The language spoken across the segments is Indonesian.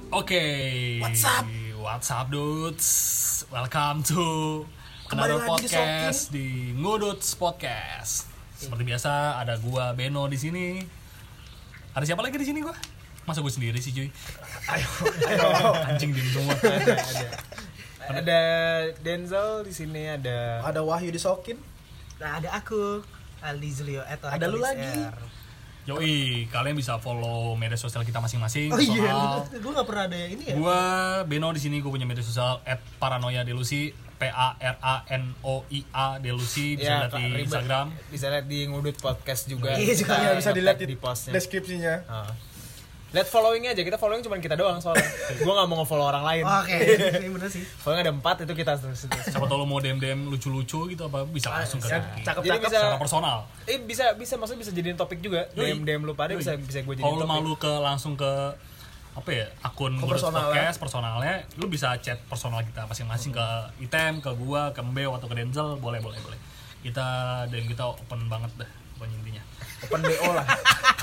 Oke. What's up, dudes? Welcome to another podcast di Nguduts Podcast. Seperti biasa ada gua Beno di sini. Ada siapa lagi di sini gua? Masa gue sendiri sih, cuy? Ayo. Anjing diem semua. Ada Denzel di sini, ada Wahyu disokin. Nah, ada aku Aldi Zulio atau Ada lu lagi. Yoi, kalian bisa follow media sosial kita masing-masing. Oh iya, gue nggak pernah ada ini ya. Gua Beno di sini, gue punya media sosial @paranoia_delusi, PARANOIA Delusi, bisa lihat di Instagram. Bisa lihat di Ngudut Podcast juga. Iya, juga bisa dilihat di postnya. deskripsinya. Lihat followingnya aja, kita following cuma kita doang soalnya. Gue nggak mau nge-follow orang lain. Oke, ini bener sih. Following ada 4 itu kita terus. Siapa tahu lo mau DM lucu-lucu gitu apa bisa langsung ke Jadi Cakep-cakep bisa secara personal. bisa maksudnya bisa jadiin topik juga. DM lu pada bisa gue jadiin Kalau lo topik. malu ke langsung ke apa ya, akun Ngudut Podcast personalnya, lu bisa chat personal kita masing-masing ke Item, ke gua, ke Mbeo atau ke Denzel, boleh. Kita DM kita open banget dah pokoknya intinya. Open BO lah.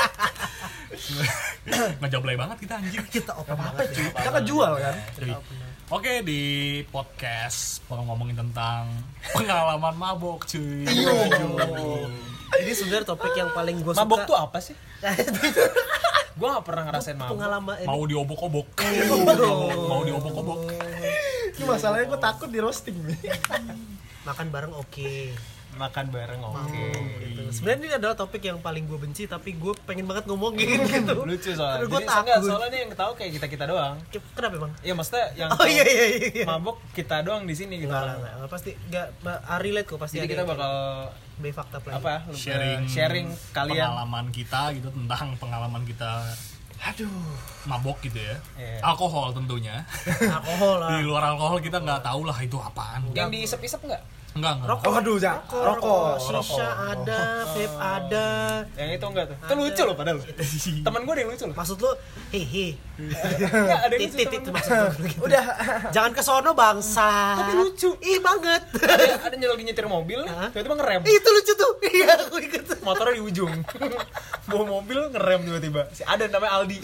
Ngejablay banget kita anjing. Kita open Apa banget cuy? ya. Kita kan jual kan. Jadi, oke, di podcast mau ngomongin tentang pengalaman mabok cuy. Ini sebenarnya topik yang paling gue suka. Mabok tuh apa sih? Gue gak pernah ngerasain mabok. Pengalaman ini. Mau diobok-obok. Mau diobok-obok. Ini masalahnya gue takut di roasting nih. Makan bareng oke. Makan bareng oke. Gitu. Sebenarnya ini adalah topik yang paling gue benci, tapi gue pengen banget ngomongin gitu. Lucu soalnya. Karena gue Jadi takut. soalnya nih yang ketawa kayak kita doang. Kenapa emang? Iya maksudnya yang Oh iya. mabok kita doang di sini gitu. Enggak, pasti enggak relate kok pasti. Jadi ada kita yang bakal kayak fakta play. apa? sharing kalian. pengalaman kita gitu, tentang pengalaman kita mabok gitu ya. Iya. Alkohol tentunya. Alkohol lah. Di luar alkohol kita nggak tahu lah itu apaan. Yang diisep-isep enggak? Enggak. Rokok. Oh aduh, rokok. Shisha ada, vape ada. Yang itu enggak tuh. Itu lucu loh padahal. Temen gue ada yang lucu loh. Maksud lu, hehe. Enggak ada yang lucu. Titit temen maksud lu gitu. Udah. Jangan ke sono bangsa. Tapi lucu. Ih banget. Ada yang lagi nyetir mobil, tiba-tiba ngerem. Itu lucu tuh. Iya, aku ikut. Motornya di ujung. Bawa mobil ngerem tiba-tiba. Si ada namanya Aldi.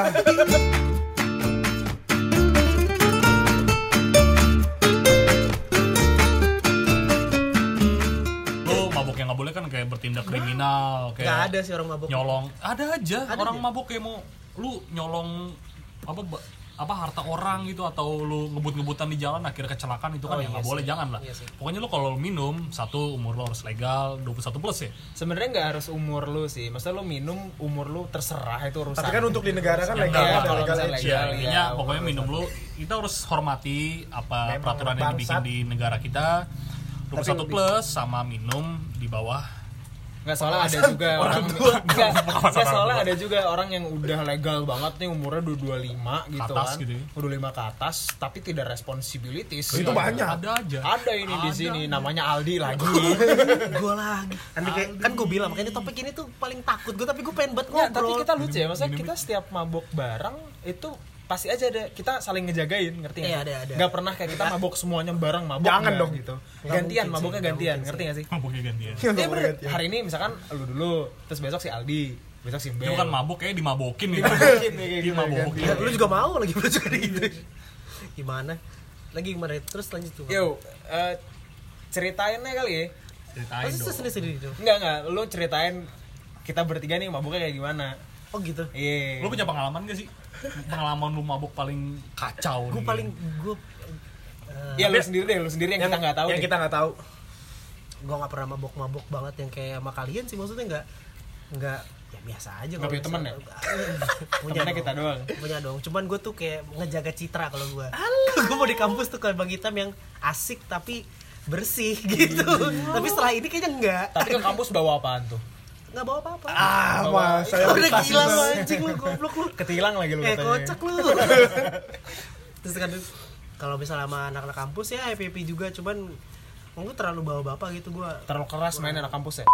Yang nggak boleh kan kayak bertindak kriminal, kayak Nggak ada sih orang mabuk. nyolong. Ada aja Ada orang aja. mabuk kayak mau lu nyolong apa harta orang gitu, atau lu ngebut-ngebutan di jalan akhirnya kecelakaan, itu kan yang nggak boleh, jangan lah. Iya sih. Pokoknya lu kalau minum, satu umur lu harus legal 21 plus ya. Sebenarnya nggak harus umur lu sih. Maksudnya lu minum umur lu terserah, itu urusan. Tapi kan untuk di negara kan Yang legal nggak, ada kalau legal misalnya age. legal. Ya, intinya iya, pokoknya umur minum lu, kita harus hormati apa Memang peraturan yang dibikin bangsat. di negara kita. 21 plus sama minum di bawah. Nggak, soalnya ada juga orang nggak soalnya ada juga orang yang udah legal banget nih umurnya 25 gitu Atas kan. gitu ya. 25 ke atas tapi tidak responsibilities. Itu banyak. Ada aja. Ada ini di sini namanya Aldi lagi. Gue lagi. Nanti kayak kan gue bilang makanya topik ini tuh paling takut gue, tapi gue pengen banget Ya, ngobrol. tapi kita lucu ya, maksudnya kita setiap mabok bareng itu pasti aja ada, kita saling ngejagain, ngerti nggak? Iya, ada. Nggak pernah kayak kita mabok semuanya bareng, mabok Jangan nggak, dong. gitu. Nggak Gantian, mungkin maboknya sih, gantian, nggak ngerti nggak sih? Mabuknya gantian. Iya bener, hari ini misalkan lu dulu, terus besok si Aldi, besok si Bel. Itu kan mabuk kayak dimabokin gitu. Dimabokin. Ya, lu juga mau lagi lu juga gitu. Gimana? Lagi gimana? Terus lanjut tuh. Yo, ceritainnya kali ya. Ceritain Pasti dong. sendiri tuh. Enggak, lu ceritain kita bertiga nih mabuknya kayak gimana. Oh gitu. Iya. Lu punya pengalaman gak sih? Pengalaman lu mabuk paling kacau Gue nih. paling Ya lu sendiri deh, lu sendiri yang kita nggak tahu. Yang deh. kita nggak tahu. gue nggak pernah mabok banget yang kayak sama kalian sih, maksudnya nggak ya biasa aja. Nggak punya temen ya? Punya Temennya kita doang. Punya dong, cuman gue tuh kayak ngejaga citra kalau gue. Gue mau di kampus tuh kayak Bang Hitam yang asik tapi bersih gitu. Tapi setelah ini kayaknya enggak. Tapi ke kampus bawa apaan tuh? Nggak bawa apa-apa. Mas, saya Udah gila lu anjing lu, goblok lu. Ketilang lagi lu katanya. Kocak lu. Terus kan kalau misalnya sama anak-anak kampus ya happy juga, cuman gue terlalu bawa bapak gitu gue. Terlalu keras main anak kampus ya?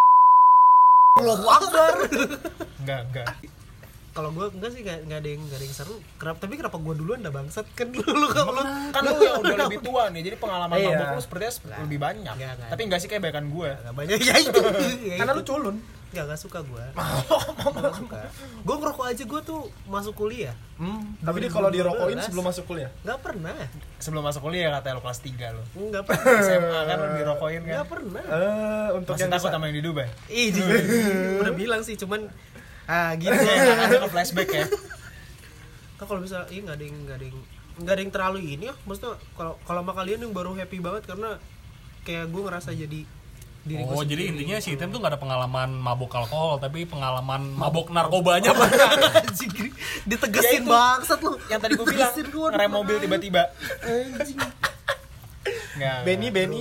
Allahu Akbar. Enggak. Kalau gue enggak sih, enggak ada yang seru. Tapi kenapa gue duluan dah bangsat? Kan lu kalau Kan lu yang udah lebih tua nih, jadi pengalaman Iya. mabok lu sepertinya lebih banyak. Enggak. Tapi enggak sih kayak banyak gue. enggak banyak ya itu. Karena lu culun. Enggak suka gue. Enggak suka. Gue ngerokok aja gue tuh masuk kuliah. Tapi dia kalau dirokokin sebelum masuk kuliah. Enggak pernah. Sebelum masuk kuliah katanya lo kelas 3 lo. Enggak pernah. SMA kan lo dirokokin kan. Enggak pernah. Untuk Masih yang takut sama yang di Dubai. Ih, udah bilang sih cuman gitu. Ada ke flashback ya. Kalau bisa nggak ada yang terlalu ini ya. Maksudnya kalau sama kalian yang baru happy banget karena kayak gue ngerasa jadi diri gue jadi sendiri. intinya si Item tuh gak ada pengalaman mabok alkohol, tapi pengalaman mabok narkobanya. Anjing, ditegesin bangsat lu. Yang tadi gue bilang ngerem mobil tiba-tiba. Anjing. Enggak. Benny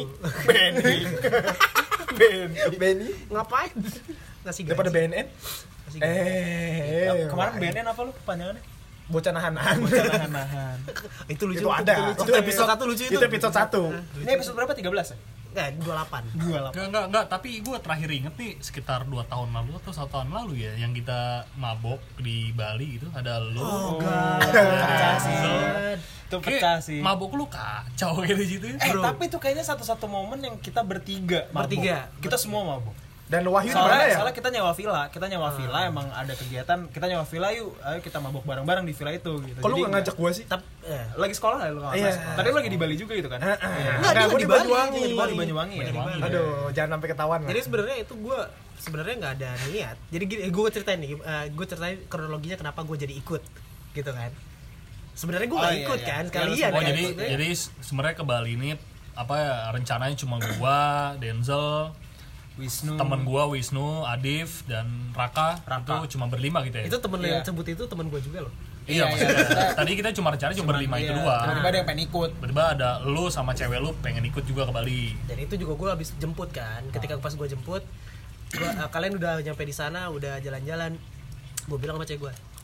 Ngapain? Ngasih gaji. daripada BNN. Ngasih gaji. Kemarin BNN apa lu kepanjangannya? Bocah nahan-nahan. Nahan. Itu lucu. Itu ada. Itu episode 1 lucu itu. Itu episode 1. Ini episode berapa? 13 ya? Enggak, 28. Enggak, tapi gue terakhir inget nih sekitar 2 tahun lalu atau 1 tahun lalu ya, yang kita mabok di Bali itu ada lu. Pecah sih. Itu pecah sih. Mabok lu kacau kayak di situ. Tapi itu kayaknya satu-satu momen yang kita bertiga mabuk. Kita semua mabuk. Dan Wahyu di mana ya? Soalnya kita nyewa villa, emang ada kegiatan, kita nyewa villa yuk, ayo kita mabuk bareng-bareng di villa itu gitu. Kok lu nggak ngajak gua sih? Lagi sekolah ya lu kalau nggak salah. Tadi lu lagi di Bali juga gitu kan? Enggak, gua di Banyuwangi. Di Banyuwangi ya. Aduh, jangan sampai ketahuan lah. Jadi sebenarnya itu gue nggak ada niat. Jadi gue ceritain nih, gue ceritain kronologinya kenapa gue jadi ikut, gitu kan. Sebenarnya gue nggak ikut kan, kalian. Oh jadi sebenarnya ke Bali ini apa ya, rencananya cuma gua, Denzel, Wisnu, temen gua Wisnu, Adif dan Raka. Itu cuma berlima gitu ya. Itu temen lo yang sebut itu temen gue juga loh. Iya, maksudnya tadi kita cuma berlima itu doang. Tiba-tiba ada yang pengen ikut. Tiba-tiba ada lu sama cewek lu pengen ikut juga ke Bali. Dan itu juga gue habis jemput kan. Ketika pas gue jemput, kalian udah nyampe di sana, udah jalan-jalan. Gue bilang sama cewek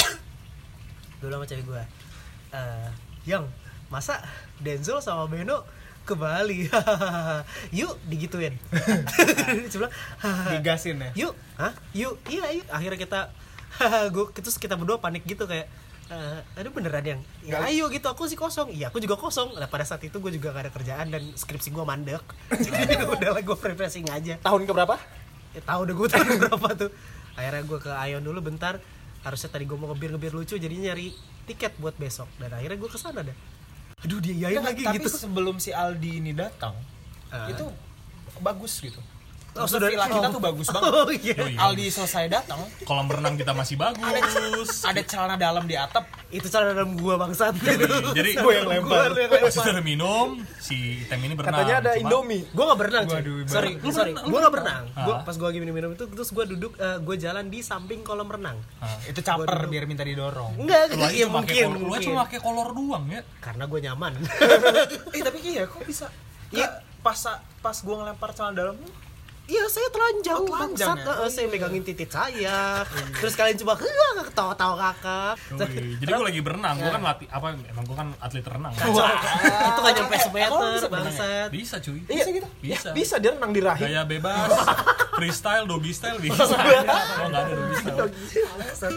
gue, Yang masa Denzel sama Beno ke Bali? Yuk digituin. Dia bilang, digasin ya. Yuk, yuk, iya yuk. Akhirnya terus kita berdua panik gitu kayak, aduh beneran yang, ya ayo gitu, aku sih kosong. Iya aku juga kosong. Nah pada saat itu gue juga gak ada kerjaan dan skripsi gue mandek. Jadi udahlah gue refreshing aja. Tahun keberapa? Tahu udah gue tahun berapa tuh. Akhirnya gue ke Ayon dulu bentar. Harusnya tadi gue mau ngebir lucu, jadi nyari tiket buat besok. Dan akhirnya gue kesana dah. Aduh dia yain lagi tapi gitu. Tapi sebelum si Aldi ini datang, itu bagus gitu. Oh, sudah villa kita tuh bagus banget. Oh, iya. Aldi selesai datang, kolam renang kita masih bagus. Ada celana dalam di atap. Itu celana dalam gua bangsat. Jadi gue yang lempar. Pas udah minum, si Item ini berenang. Katanya ada Indomie. Gua gak berenang. Waduh, sorry. Gua gak berenang. Gua pas gua lagi minum itu terus gua duduk, gua jalan di samping kolam renang. Itu caper biar minta didorong. Enggak, Lu iya mungkin. mungkin. Lu cuma pakai kolor doang ya. Karena gua nyaman. Tapi iya kok bisa? Iya, pas gua ngelempar celana dalam. Iya, saya telanjang, bangsat. Ya? Saya megangin titik saya. Terus kalian coba ketawa-tawa kakak. Jadi gue lagi berenang, gue kan latih apa? Emang gue kan atlet renang. Itu gak nyampe semeter, bangsat. Bisa cuy. Iya gitu. Bisa dia renang di rahim. Gaya bebas, freestyle, doggy style bisa. Oh nggak ada doggy style.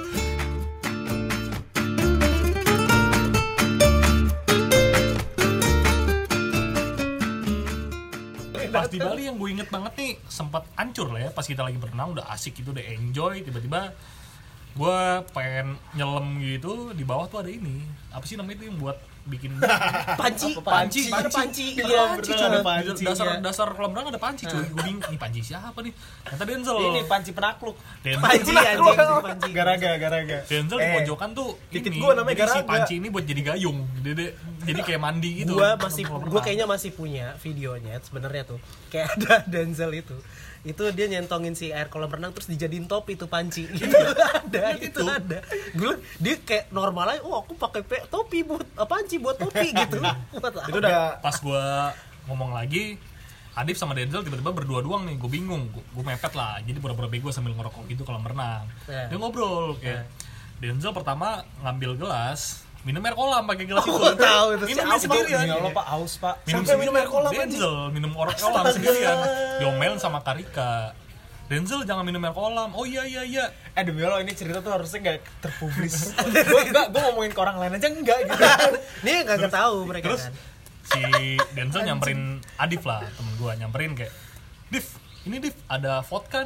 Pas di Bali yang gue inget banget nih, sempat hancur lah ya pas kita lagi berenang, udah asik gitu, udah enjoy, tiba-tiba gue pengen nyelam gitu, di bawah tuh ada ini, apa sih namanya itu yang buat bikin panci. Iya, ada panci. Dasar kolam renang ada panci cuy. Gue bingung, ini panci siapa nih? Ternyata Denzel. Ini panci penakluk. Panci anjing, panci. Garaga. Denzel di pojokan tuh dikit ini. gua namanya Jadi si Garaga. panci ini buat jadi gayung. Jadi kayak mandi gitu. Gua kayaknya masih punya videonya sebenarnya tuh. Kayak ada Denzel itu dia nyentongin si air kolam renang terus dijadiin topi tuh panci. Itu ada. Dia kayak normal aja, aku pakai topi buat panci buat topi gitu. Itu udah Pas gue ngomong lagi, Adif sama Denzel tiba-tiba berdua doang nih, gue bingung, gue mepet lah, jadi pura-pura bego sambil ngerokok gitu kolam renang. Dia ngobrol kayak Denzel pertama ngambil gelas, minum air kolam pakai gelas itu. Tahu itu minum sendirian. Ya Allah Pak, aus Pak. minum air kolam Denzel minum kolam sendirian. Diomelin sama Karika. Denzel jangan minum air kolam. Oh iya. Demi Allah ini cerita tuh harusnya gak terpublis. Gue ngomongin ke orang lain aja enggak gitu. Nih enggak tahu mereka Terus kan. si Denzel nyamperin Adif lah, temen gue nyamperin kayak, Div, ini Div ada vodka nih.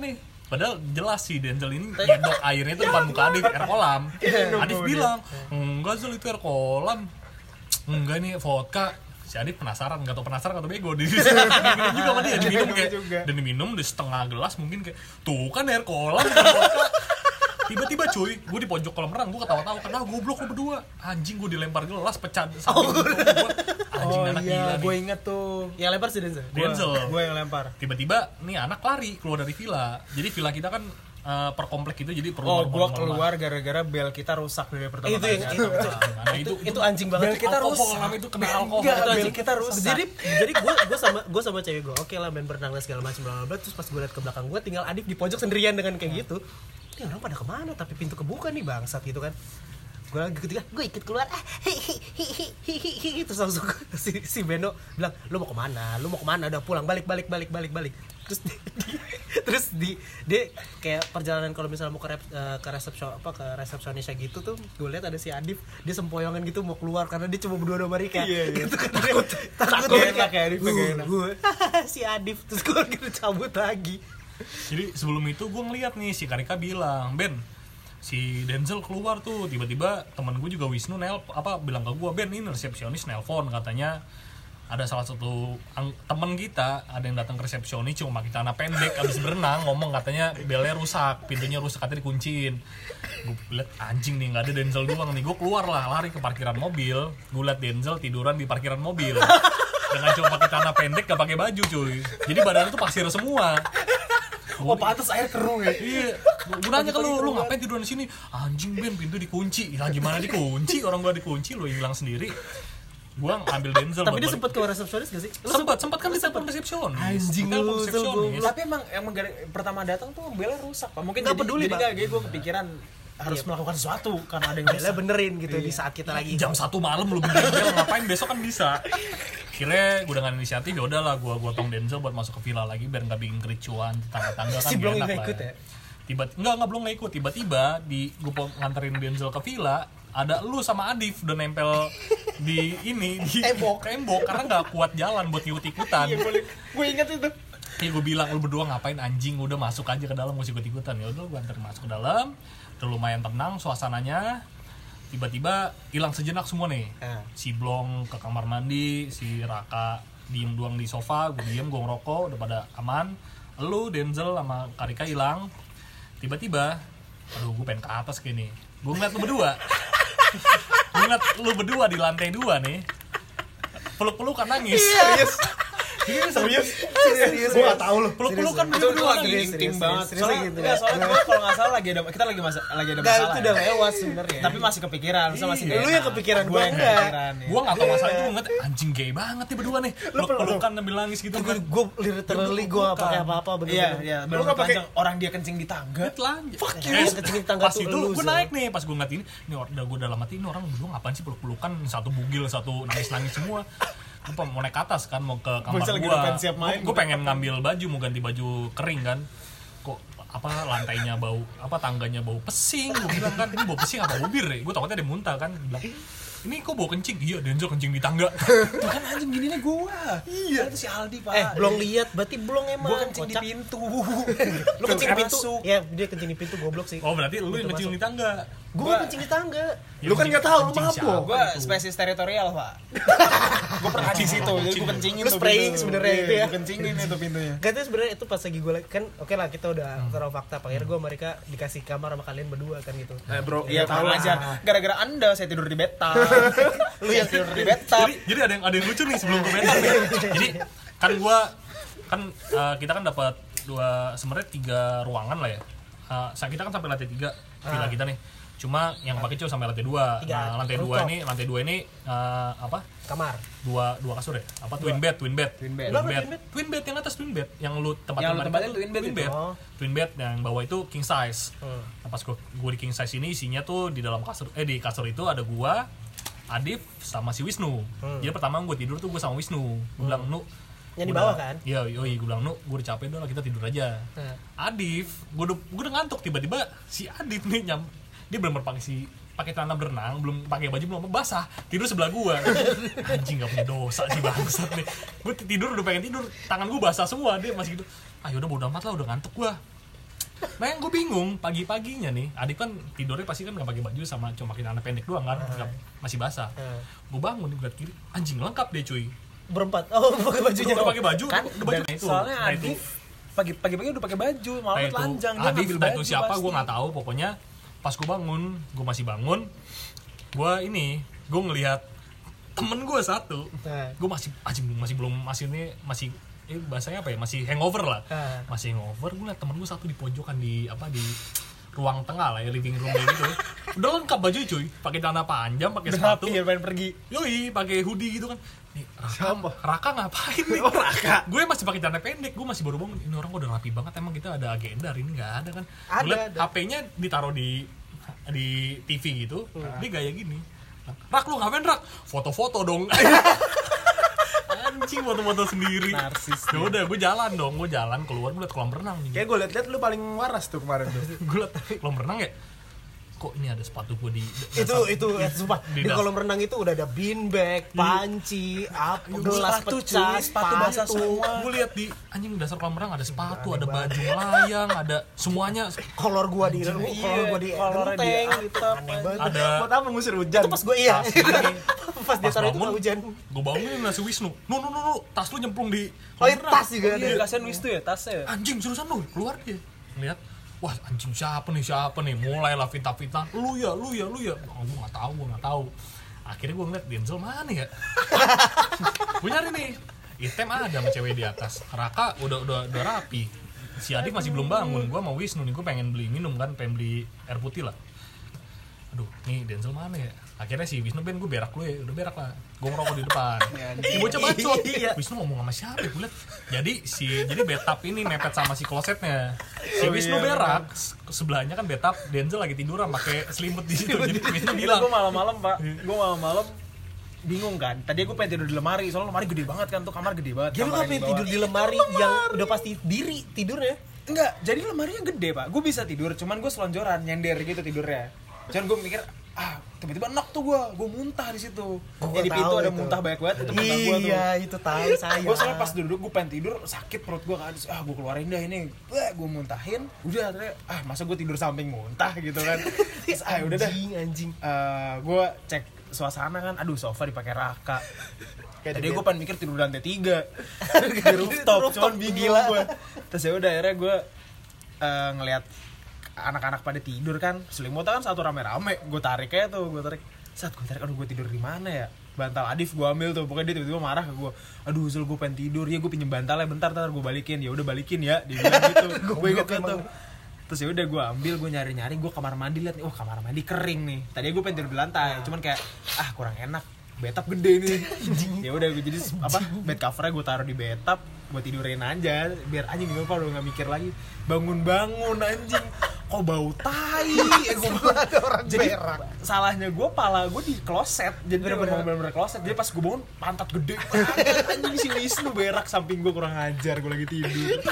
Padahal jelas sih Denzel ini nyedok airnya itu depan muka Adif, air kolam. Adif bilang, enggak Zel itu air kolam. Enggak ini vodka. Si Adif penasaran, gak tau penasaran atau bego. Diminum juga sama dia, dan diminum di setengah gelas mungkin kayak, tuh kan air kolam. Tiba-tiba cuy, gue di pojok kolam renang, gue ketawa-tawa karena goblok lo berdua. Anjing, gue dilempar gelas pecah samping gue. Anjing anak gila nih. Gue inget tuh. Yang lempar sih Denzel. Gue yang lempar. Tiba-tiba nih anak lari keluar dari villa. Jadi villa kita kan per komplek itu jadi perlu. Gue keluar gara-gara bel kita rusak dari pertama kali. Itu anjing banget. Bel kita rusak. Itu kena alkohol. Bel kita rusak. Jadi gue sama cewek gue, oke lah main berenang segala macam bla bla. Terus pas gue liat ke belakang gue, tinggal Adif di pojok sendirian dengan kayak gitu. Ini orang pada kemana? Tapi pintu kebuka nih bangsat gitu kan. Gue lagi ketika gue ikut keluar, terus langsung si Beno bilang, lu mau kemana? Udah pulang, balik. Terus dia kayak perjalanan kalau misalnya mau ke resepsionisnya gitu tuh, gue lihat ada si Adif, dia sempoyongan gitu mau keluar karena dia cuma berdua sama Rika. Iya. Gitu kan, takut enak ya Adif enak. Si Adif terus gue lagi cabut lagi. Jadi sebelum itu gue ngeliat nih si Karika bilang, Ben, si Denzel keluar tuh, tiba-tiba temen gue juga Wisnu bilang ke gue, Ben ini resepsionis nelpon, katanya ada salah satu temen kita ada yang datang ke resepsionis cuma pakai celana pendek abis berenang, ngomong katanya belnya rusak, pintunya rusak, katanya dikunciin. Gue liat anjing nih, nggak ada Denzel doang nih. Gue keluar lah, lari ke parkiran mobil, gue liat Denzel tiduran di parkiran mobil dengan cuma pakai celana pendek, gak pakai baju cuy, jadi badannya tuh pasir semua. Oh pantas air keruh ya. Iya. Gue nanya ke lu ngapain tiduran di sini? Anjing Ben, pintu dikunci. Lah gimana dikunci? Orang gua dikunci, lu hilang sendiri. Gua ngambil Denzel. Tapi dia sempat ke resepsionis gak sih? Sempat kan di telepon resepsionis. Anjing lu. Tapi emang pertama datang tuh belnya rusak, Pak. Mungkin nggak peduli, jadi gue kepikiran harus melakukan sesuatu karena ada yang belnya benerin gitu di saat kita lagi jam 1 malam lu benerin bel, ngapain besok kan bisa. Akhirnya gue dengan inisiatif ya udahlah gue gotong Denzel buat masuk ke villa lagi biar nggak bikin kericuan tetangga-tetangga kan. Si belum nggak ikut ya? Belum nggak ikut. Tiba-tiba gue nganterin Denzel ke villa, ada lu sama Adif udah nempel di tembok karena nggak kuat jalan buat ikut-ikutan. Iya boleh, gue ingat itu. Iya gue bilang, lu berdua ngapain anjing, udah masuk aja ke dalam, gak ikut-ikutan. Ya udah gue anterin masuk ke dalam, udah lumayan tenang suasananya. Tiba-tiba hilang sejenak semua nih. Si Blong ke kamar mandi, si Raka diem doang di sofa, gue diem, gue ngerokok, udah pada aman. Lu, Denzel sama Karika hilang. Tiba-tiba, aduh gue pengen ke atas kayak nih. Gue ngeliat lu berdua di lantai 2 nih, peluk-pelukan nangis. Serius? Gue gak tau loh. Peluk-pelukan Itu lagi intim banget. Soalnya gue kalau nggak salah kita lagi ada masalah. Itu udah lewat sebenarnya. Tapi masih kepikiran, masih lu yang kepikiran, gue yang kepikiran. Gue nggak tahu masalah itu, gue ngeliat anjing gay banget nih berdua nih. Peluk-pelukan sambil nangis gitu kan. Gue literally gue gak pakai apa-apa bener-bener. Iya. Lu nggak pakai orang dia kencing di tangga. Fuck you. Kencing di tangga pas tuh itu lu. Gue naik nih, pas gue ngeliat ini gue dalam hati ini orang berdua ngapain sih peluk-pelukan, satu bugil, satu nangis-nangis semua. Gue mau naik ke atas kan, mau ke kamar gue pengen ngambil baju, mau ganti baju kering kan, kok lantainya bau, tangganya bau pesing. Gue bilang kan, ini bau pesing apa ubir ya, gue takutnya ada muntah kan. Bilang, ini kok bau kencing? Iya, Denzel kencing di tangga. Kan anjing gini nih gue. Iya, itu si Aldi Pak. Belum lihat, berarti belum emang. Gue kencing di pintu. Lu kencing di pintu? Ya, dia kencing di pintu, goblok sih. Oh, berarti lu yang kencing di tangga. Gue kencing di tangga. Lu kan nggak tahu lu mabuk. Gue spesies teritorial Pak. Gue pernah di situ, jadi gue kencingin. Lu spraying sebenarnya itu ya. Gue kencingin itu pintunya. Gak tuh sebenarnya itu pas lagi gue kan, oke lah kita udah taruh fakta. Akhirnya gue mereka dikasih kamar sama kalian berdua kan gitu. Bro, iya tahu aja. Gara-gara Anda saya tidur di bathtub. Lu yang tidur di bathtub. Jadi ada yang lucu nih sebelum ke bathtub nih. Jadi kan kita kan dapat sebenarnya 3 ruangan lah ya. Kita kan sampai lantai 3 villa kita nih. Cuma yang pakai cuma sampai lantai 2. Nah, lantai 2 ini kamar. Dua kasur ya? Twin bed yang atas twin bed. Yang lu tempatin twin bed. Twin bed yang bawah itu king size. Nah, pas gue di king size ini isinya tuh di dalam kasur di kasur itu ada gua, Adif sama si Wisnu. Jadi pertama gue tidur tuh gue sama Wisnu. Gue bilang, "Nu, yang di bawah kan?" Iya, gue bilang, "Nu, gue udah capek udah lah kita tidur aja." Adif, gue udah ngantuk, tiba-tiba si Adif nih dia belum pakai celana berenang, belum pakai baju, belum basah, tidur sebelah gua. Anjing gak punya dosa sih bangsat nih. Gue tidur udah pengen tidur, tangan gua basah semua, dia masih gitu. Ayo udah bodo amat lah, udah ngantuk gua. Nah yang gue bingung pagi-paginya nih, Adif kan tidurnya pasti kan nggak pakai baju sama cuma pakai celana pendek doang kan, masih basah. Gue bangun di belah kiri, anjing lengkap deh cuy. Berempat. Oh, pakai bajunya. Udah pakai baju, Kan udah baju itu. soalnya Nah, Adif pagi-pagi udah pakai baju, malah itu telanjang dia Adif ngambil dan baju. itu siapa pasti. gue nggak tahu. Pokoknya pas gue masih bangun, gue ngelihat temen gue satu, gue masih bahasanya apa ya, masih hangover lah, masih hangover. Gue liat temen gue satu di pojokan di ruang tengah lah ya, living room gitu. Udah lengkap baju cuy, pakai celana panjang, pakai sepatu, Rapi ya pengen pergi. yoi, pakai hoodie gitu kan. Nih, Raka ngapain nih? Gue masih pakai celana pendek, gue masih baru bangun. Ini orang udah rapi banget, emang kita ada agenda hari ini? Nggak ada kan? Ada. HP-nya ditaruh di TV gitu, dia gaya gini. Rak, lu ngapain Rak? Foto-foto dong. Anjing, foto-foto sendiri. Narsis. Ya udah, gue jalan keluar, gue liat kolam renang nih. Kayak gue liat lu paling waras tuh kemarin tuh. Gue liat kolam renang ya, kok ini ada sepatu gue di Sumpah, di kolam renang itu udah ada beanbag, panci, gelas pecah, sepatu basah semua. Gue lihat di anjing dasar kolam renang ada sepatu, ada baju melayang, ada semuanya. kolor gua di genteng gitu. Ada Buat apa ngusir hujan? Itu pas gue pas dia taruh itu nggak hujan. Gue bangunin nasi Wisnu. Nu, tas lu nyemplung di Oh, iya, tas juga ada. Iya, kasihan Wisnu ya tasnya. Anjing seriusan lu, keluar dia. Lihat, wah anjing siapa nih, mulailah fitnah. Lu ya. Oh, gue nggak tahu. Akhirnya gue ngeliat Denzel mana ya. Gue nyari nih, item ada sama cewek di atas. Raka udah rapi. Si Adik masih belum bangun. Gue sama Wisnu nih, gue pengen beli minum kan, pengen beli air putih lah. Aduh, nih Denzel mana ya? Akhirnya si Wisnu gue berak lu ya, udah berak lah. Gue ngerokok di depan. Ini bocah bacot. Wisnu ngomong sama siapa ya? Gue liat. Jadi bathtub ini mepet sama si klosetnya. Si Wisnu berak, sebelahnya kan bathtub, Denzel lagi tiduran pakai selimut di situ. Jadi Wisnu bilang, Gue malam-malam Pak, bingung kan. Tadi gue pengen tidur di lemari, soalnya lemari gede banget kan, tuh kamar gede banget. Dia lu ngapain tidur di lemari yang udah pasti diri tidurnya? Enggak, jadi lemarinya gede Pak. Gue bisa tidur, cuman gue selonjoran, nyender gitu tidurnya. Cuman gue mikir, tiba-tiba enak tuh gue muntah di situ. Jadi di pintu ada muntah banyak banget, itu muntah gue tuh. Iya, itu tahu saya. Gue soalnya pas duduk gue pengen tidur, sakit perut gue kan. Gue keluarin dah ini. Gue muntahin. Udah akhirnya masa gue tidur samping muntah gitu kan. Terus udah dah. Anjing. Gue cek suasana kan. Aduh, sofa dipakai Raka. Tadi gue pengen mikir tidur di lantai 3 di rooftop, cuman bingung gue. Terus ya udah akhirnya gue ngelihat anak-anak pada tidur kan, selimutnya kan satu rame-rame, gue tarik aja tuh, aduh gue tidur di mana ya, bantal Adif gue ambil tuh, pokoknya dia tiba-tiba marah ke gue, aduh Zul gue pengen tidur, ya gue pinjem bantalnya bentar gue balikin, ya udah balikin ya, dia bilang gitu, gue inget tuh. Terus ya udah gue ambil, gue nyari gue kamar mandi, liat nih, kamar mandi kering nih, tadinya gue pengen tidur di lantai, cuman kayak kurang enak, bathtub gede nih, ya udah gue jadi bed covernya gue taruh di bathtub, gue tidurin aja, biar anjing gue kalau nggak mikir lagi, bangun anjing. Kok bau tai? Ada orang Jadi berak. salahnya gue, pala gue di kloset. Jadi bener-bener kloset. Jadi pas gue bangun, pantat gede banget. Anjing si Wisnu berak samping gue, kurang ajar, gue lagi tidur.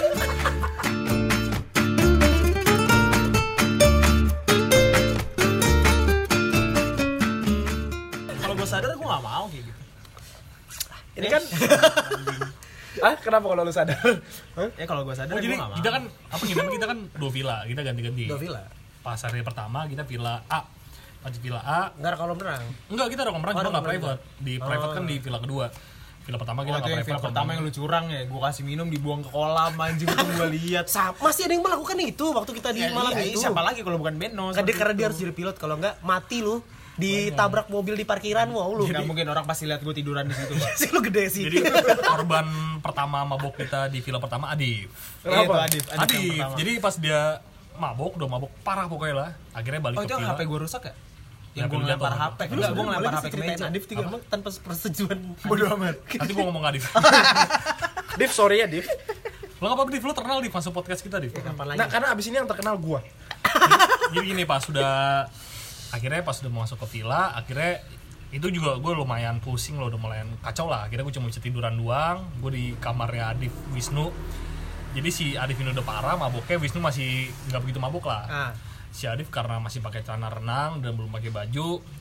Kalau gue sadar gue gak mau kayak gitu. Ini kan kenapa kalau lu sadar? Ya kalau gue sadar jadi gue gak mau. kita kan kita kan 2 villa, kita ganti-ganti. 2 villa. Pas hari pertama kita villa A. Pas di villa A, Enggak ada kolam renang. enggak, kita ada kolam renang, cuma enggak private. Di private kan di villa kedua. Villa pertama kita enggak private. Film pertama yang lu curang ya, gue kasih minum dibuang ke kolam anjing, itu gue lihat. Masih ada yang melakukan itu waktu kita di malam itu. Siapa lagi kalau bukan Beno? Karena dia harus jadi pilot, kalau enggak mati lu. Ditabrak mobil di parkiran, wow lu. Nggak mungkin orang pasti lihat gue tiduran di situ. Sih lu gede sih. Jadi korban pertama mabok kita di villa pertama Adif. Kenapa? Adif. Jadi pas dia udah mabok parah pokoknya lah. Akhirnya balik ke Itu villa. HP gue rusak ya? Yang HP gue lu ngelempar jatuh. HP. Enggak, gue ngelempar HP ke meja. Adif juga emang tanpa persetujuan. Bodo amat. Nanti gua ngomong Adif. Div, sorry ya Div. Lo enggak apa-apa Div, lo terkenal di masuk podcast kita Div. Kapan lagi? Nah, karena abis ini yang terkenal gua. Jadi gini, pas udah mau masuk ke villa, akhirnya itu juga gue lumayan pusing loh, udah mulai kacau lah. Akhirnya gue cuma bisa tiduran doang, gue di kamarnya Adif Wisnu. Jadi si Adif ini udah parah maboknya, Wisnu masih nggak begitu mabok lah. Si Adif karena masih pakai celana renang dan belum pakai baju,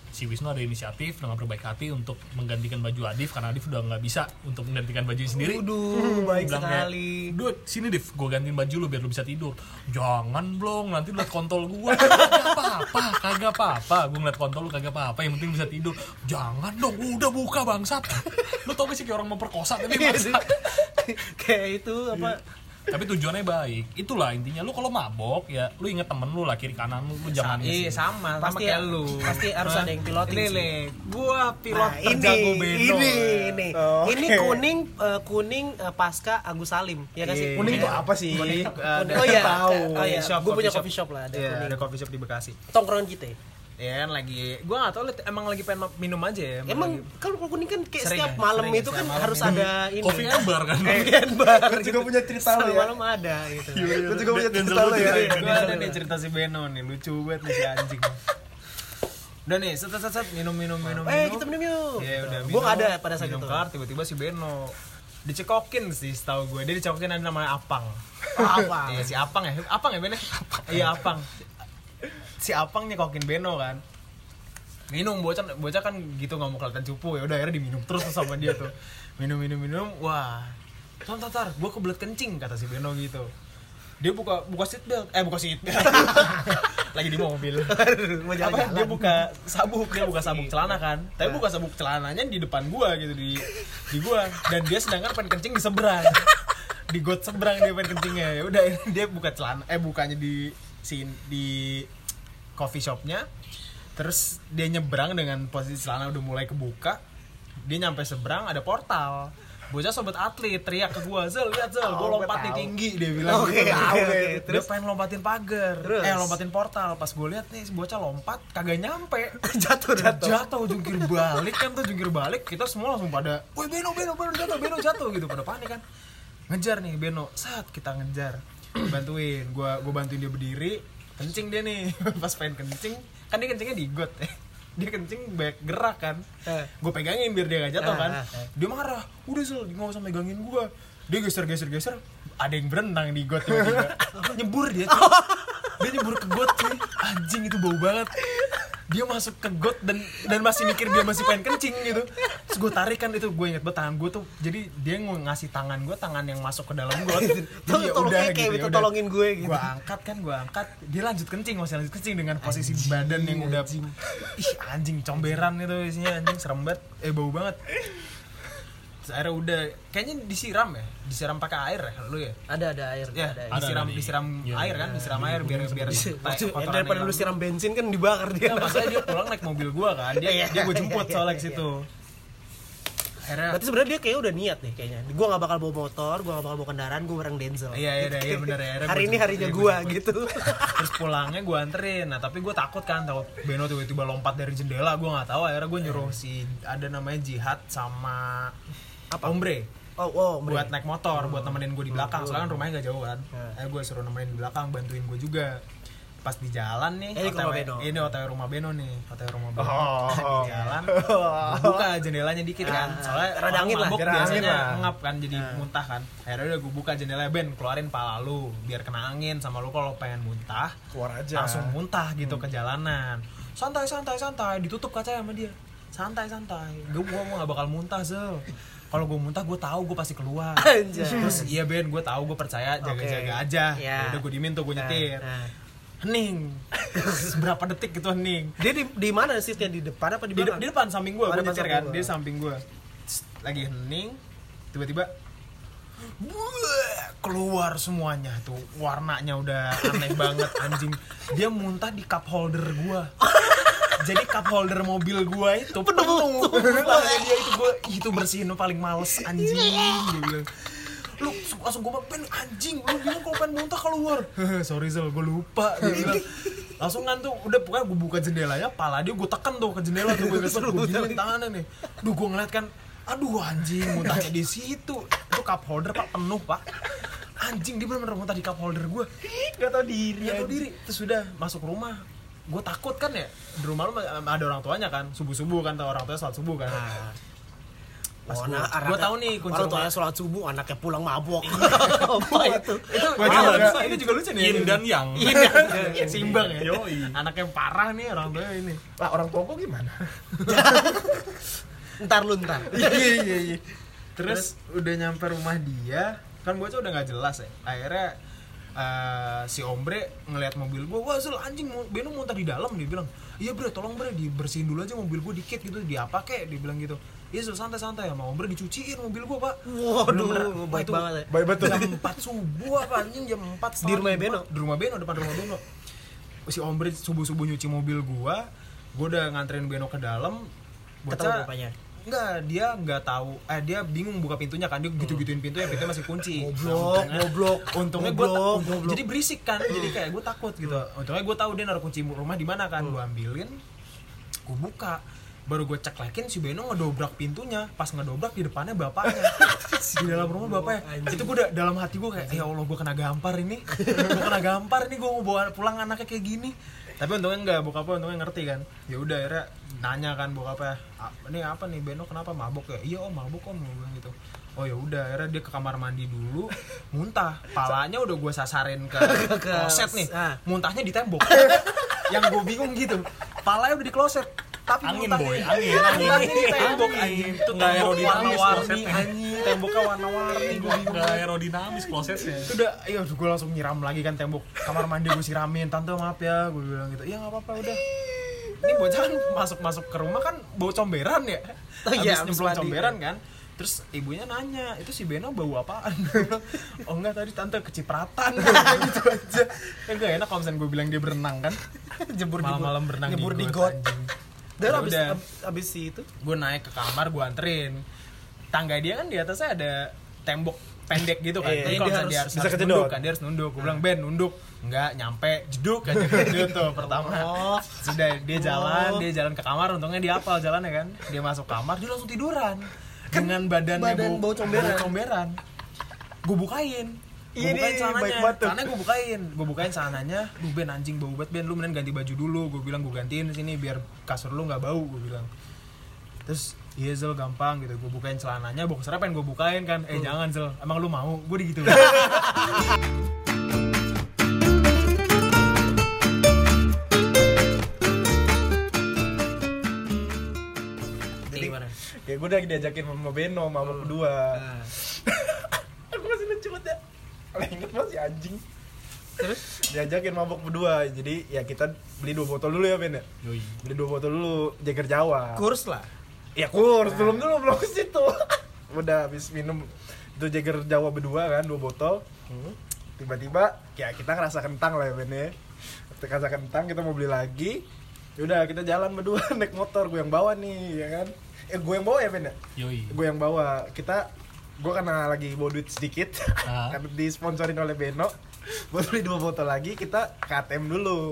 si Wisnu ada inisiatif dengan berbaik hati untuk menggantikan baju Adif karena Adif udah nggak bisa untuk menggantikan baju sendiri. Baik Bilang sekali. kayak, "Dude, sini Div, gue gantiin baju lu biar lu bisa tidur." "Jangan Blong, nanti lu liat kontol gue." Kagak apa-apa, gue ngeliat kontol lu kagak apa-apa, yang penting bisa tidur." "Jangan dong, udah buka bangsat." Lu tau gak sih kayak orang memperkosa tapi bangsat. Kayak itu apa? Tapi tujuannya baik. Itulah intinya. Lu kalau mabok ya lu inget temen lu lah, kiri kanan lu jangan Iya sama kayak lu. Pasti harus ada yang piloting sih. Nih, gua pilot Nah, terjago Beno. ini. Oh, Ini oke. kuning pasca Agus Salim. Ya kasih. Kuning itu apa sih? Oh iya, tahu. gue punya coffee shop lah, ada Iya, kuning. ada coffee shop di Bekasi. Tongkrongan kita. Ya kan lagi, gua nggak tahu emang lagi pengen minum aja ya. Emang lagi- kalau kuning kan kayak Sering setiap ya? malam Sering itu ya, kan setiap malam harus minum. ada ini. Coffee bar kan. Coffee bar. Gue juga punya cerita lu Setiap ya. malam ada gitu. Gue juga punya cerita lu ya. Gua ada nih cerita si Beno nih, lucu banget nih si anjing. Udah nih, set minum. Kita minum yuk. Iya udah. Gue nggak ada pada saat minum itu. kelar, tiba-tiba si Beno dicekokin sih, setahu gue. Dia dicekokin ada namanya Apang. Apa? Iya si Apang ya Ben. Iya Apang. Si Apang nyekokin Beno kan. Minum bocah kan gitu nggak mau kelihatan cupu ya udah akhirnya diminum terus sama dia tuh. Minum. Wah. Tar, gue kebelet kencing kata si Beno gitu. Dia buka seat belt. Lagi di mobil. Mau jalan-jalan. Dia buka sabuk celana kan. Tapi buka sabuk celananya di depan gua gitu di gua dan dia sedangkan pengen kencing di seberang. Di got seberang dia pengen kencingnya. Ya udah dia buka celana bukanya di coffee shopnya. Terus dia nyebrang dengan posisi celana udah mulai kebuka. Dia nyampe seberang ada portal. Bocah sobat atlet teriak ke gua, "Zel, lihat Zel, gua lompat nih tinggi." Dia bilang Oke, gitu. oke. Dia pengen lompatin pagar. Terus? Lompatin portal. Pas gua lihat nih si bocah lompat kagak nyampe. Jatuh jungkir balik kan tuh jungkir balik. Kita semua langsung pada, "Woi Beno jatuh." Gitu pada panik kan. Ngejar nih Beno. Saat kita ngejar. Bantuin. Gua bantuin dia berdiri. Kencing dia nih. Pas pengen kencing, kan dia kencingnya di got ya. Dia kencing banyak gerak kan. Gue pegangin biar dia gak jatuh kan. Dia marah. "Udah Zel, gak usah megangin gue." Dia geser. Ada yang berenang di got tiba-tiba. Nyebur dia cuy. Dia nyebur ke got cuy. Anjing itu bau banget. Dia masuk ke got dan masih mikir dia masih pengen kencing gitu. Terus gue tarik kan itu, gue inget banget tangan gue tuh. Jadi dia ngasih tangan yang masuk ke dalam got. Dia udah gitu. Kayak tolongin gue gitu. Gue angkat. Dia lanjut kencing dengan posisi badan yang udah ih anjing comberan itu isinya anjing serem banget. Bau banget. Terus akhirnya udah kayaknya disiram pakai air ya lu ya? Ada air. Ya, disiram air kan, disiram air biar kotoran Daripada lu siram bensin kan dibakar dia. Nah, maksudnya dia pulang naik mobil gua kan. Dia gue jemput soalnya ke situ. Akhirnya Berarti sebenarnya dia kayak udah niat nih kayaknya. Gue gak bakal bawa motor, gue gak bakal bawa kendaraan, gue bareng Denzel. Iya benar ya. Hari ini harinya gue gitu. Terus pulangnya gue anterin. Nah tapi gue takut Beno tiba-tiba lompat dari jendela. Gue nggak tahu. Akhirnya gue nyuruh ada namanya Jihad sama Ombre. Buat naik motor, buat nemenin gue di belakang. Soalnya kan rumahnya gak jauh kan. Akhirnya gue suruh nemenin di belakang, bantuin gue juga. Pas di jalan nih, ini OTW rumah Beno nih, OTW rumah Beno. Di jalan, gue buka jendelanya dikit kan, soalnya rada angin lah, biasanya ngap kan, jadi muntah kan. Akhirnya udah gue buka jendelanya, "Ben, keluarin pala lu, biar kena angin sama lu kalau pengen muntah, keluar aja. langsung muntah gitu ke jalanan. Santai, ditutup kacanya sama dia. Santai, gue nggak bakal muntah Zel. Kalau gue muntah gue tahu gue pasti keluar." Terus iya Ben, gue tahu, gue percaya, jaga-jaga aja. Udah gue dimin tuh, gue nyetir. Hening. Berapa detik gitu hening. Dia di mana seatnya, di depan apa di belakang? Di depan samping gue nyetir kan. gua. Dia samping gue. Lagi hening, tiba-tiba keluar semuanya tuh. Warnanya udah aneh banget anjing. Dia muntah di cup holder gue. Jadi cup holder mobil gue itu penuh. Dia itu bersihin paling males anjing. Dia bilang, "Lu langsung gue "Ben anjing, lu bilang kalau pengen muntah keluar." "Sorry Zel, gue lupa." Dia bilang. Langsung kan tuh udah pokoknya gue buka jendelanya, pala dia gue tekan tuh ke jendela tuh, gue gilin tangannya nih. Gue ngeliat kan, aduh anjing muntahnya di situ. Itu cup holder Pak penuh Pak. Anjing dia bener-bener muntah di cup holder gue. Gak tau diri. Terus udah masuk rumah. Gue takut kan ya, di rumah lu ada orang tuanya kan, subuh-subuh kan, tau orang tuanya salat subuh kan. Pas nah, gue tahu nih kunci orang rumah. tuanya sholat subuh, anaknya pulang mabok. Apa itu? Itu Balance. ini juga lucu nih. Yin dan yang. Iya, seimbang ya. Yoi. Anak yang parah nih orang tua ini. Lah orang tua gua gimana? Ntar. Iya. Terus udah nyampe rumah dia, kan bocah udah nggak jelas ya. Akhirnya si Ombre ngelihat mobil gua, wah Zul anjing Beno muntah di dalam, dia bilang. Iya bre, tolong bre dibersihin dulu aja mobil gua dikit gitu, diapa kek, dia bilang gitu. Iya Zul santai-santai ya, mau Ombre dicuciin mobil gua pak. Waduh, baik itu banget ya. Baik betul. Jam 4 subuh apa anjing, jam 4 Di rumah Beno? Di rumah Beno, depan rumah Beno. Si Ombre subuh-subuh nyuci mobil gua udah nganterin Beno ke dalam. Ketemu bapaknya. Enggak, dia nggak tahu. Dia bingung buka pintunya kan, dia gitu-gituin pintunya masih kunci. Goblok. Untungnya Goblok. jadi berisik kan, jadi kayak gue takut gitu. Untungnya gue tahu dia naruh kunci rumah di mana kan, gue ambilin, gue buka, baru gue ceklekin si Beno ngedobrak pintunya. Pas ngedobrak di depannya bapaknya, di dalam rumah bapaknya. Itu gue udah dalam hati gue kayak, ya Allah gue kena gampar ini, gue mau bawa pulang anaknya kayak gini. Tapi untungnya enggak, bokapnya untungnya ngerti kan. Ya udah akhirnya nanya kan bokapnya, ini apa nih Beno kenapa mabok ya? Iya om mabok om, gue bilang gitu. Oh ya udah akhirnya dia ke kamar mandi dulu, muntah. Palanya udah gue sasarin ke kloset nih, muntahnya di tembok. Yang gue bingung gitu, palanya udah di kloset. Tapi Angin muntahnya- boy, angin. Ini tembok anjing. Itu nggak aerodinamis warna-warni klosetnya. anjing, temboknya warna-warni. Gue bingung. Nggak aerodinamis klosetnya. Itu udah, iya gue langsung nyiram lagi kan tembok kamar mandi, gue siramin. Tante maaf ya, gue bilang gitu. Iya nggak apa-apa udah. Ini bocah kan masuk ke rumah kan bau comberan ya. Oh iya, Habis habis nyemplung mandi. comberan kan. Terus ibunya nanya, itu si Beno bau apaan? Gue bilang, oh enggak tadi tante kecipratan. Gitu aja. Kan gak enak kalau misalnya gue bilang dia berenang kan. Jebur Malam-malam berenang nyebur di di got, got. anjing. Dan Ya abis udah. abis itu Gue naik ke kamar, gue anterin. Tangga dia kan di atasnya ada tembok pendek gitu kan. Iya, Jadi dia kalau misalnya harus- dia harus, bisa harus kejedot. nunduk kan, dia harus nunduk. Gue bilang, Ben nunduk. Enggak, nyampe, jeduk aja jeduk tuh pertama. Sudah dia jalan ke kamar, untungnya dia hafal jalannya kan. Dia masuk kamar, dia langsung tiduran. Dengan badannya badan bau comberan. Gue bukain. Iya, Gue bukain nih, celananya. baik banget tuh. Celananya gue bukain celananya. Duh Ben anjing bau banget Ben, lu mending ganti baju dulu. Gue bilang gue gantiin sini biar kasur lu nggak bau. Gue bilang. Terus iya Zel gampang gitu, gue bukain celananya, boxernya pengen gue bukain kan. Jangan Zel, emang lu mau? Gue gitu. jadi gimana? Ya gue udah diajakin sama Beno, mabok kedua. Nah, Aku masih lucu banget ya. Kalau inget masih anjing. terus Diajakin mabok berdua. Jadi ya kita beli 2 botol dulu ya Ben ya. Yoi. Beli 2 botol dulu, Jager Jawa. kurs lah. Ya kurs, belum ke situ. Udah habis minum itu Jager Jawa berdua kan, 2 botol. Tiba-tiba ya kita ngerasa kentang lah ya Ben ya. Kita ngerasa kentang, kita mau beli lagi. Yaudah kita jalan berdua naik motor, gue yang bawa nih ya kan. Gue yang bawa ya Ben ya? Yoi. Gue yang bawa. Gue karena lagi bawa duit sedikit karena disponsorin oleh Beno buat beli 2 botol lagi, kita ke ATM dulu.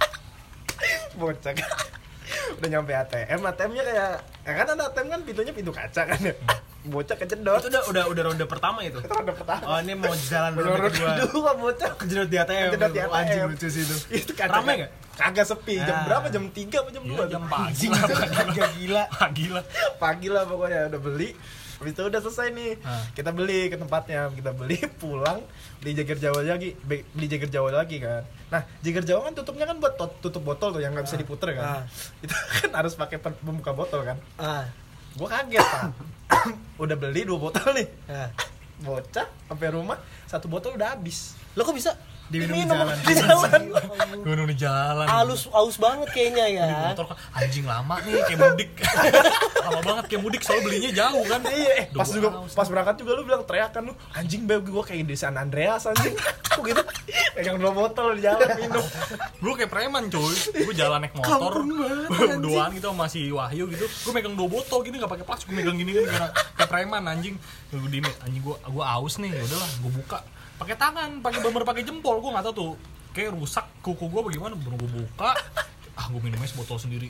Bocah udah nyampe ATM-nya kayak ya kan ada ATM kan pintunya pintu kaca kan ya. Bocah kejedot. Itu udah ronde pertama itu. Itu ronde pertama. Oh ini mau jalan ronde Ronde kedua. kedua bocah Kejedot di ATM. kejedot di ATM. Anjing lucu sih itu. Itu kaca Rame nggak? Kagak sepi. Jam Ah. berapa? Jam 3 apa jam 2? Iya, jam pagi. Gila. Pagi lah. Pagi lah pokoknya udah beli. Habis itu udah selesai nih. Kita beli ke tempatnya, kita beli pulang, beli Jager Jawa lagi kan. Nah, Jager Jawa kan tutupnya kan buat tutup botol tuh yang nggak bisa diputer kan. Itu kan harus pakai pembuka botol kan. Gua kaget, Pak. Udah beli 2 botol nih. Bocah sampai rumah 1 botol udah habis. Lo kok bisa? Diminum Di jalan. Gue di jalan. Aus banget kayaknya ya. Di motor kan anjing lama nih kayak mudik. Lama banget kayak mudik soalnya belinya jauh kan. Iya, Duh, pas juga haus. pas berangkat juga lu bilang teriakan lu, anjing beb gua kayak di San Andreas anjing. Kok gitu? Pegang 2 botol di jalan minum. Gue kayak preman cuy. Gue jalan naik motor. Berduaan gitu sama si Wahyu gitu. Gue megang 2 botol gini enggak pakai plastik. Gue megang gini kan kayak preman anjing. Gue dini anjing gue aus nih. Ya udahlah, gue buka. Pakai tangan, pakai jempol. Gue enggak tahu tuh. Kayak rusak kuku gue bagaimana. Baru gue buka. Gue minumnya sebotol sendiri.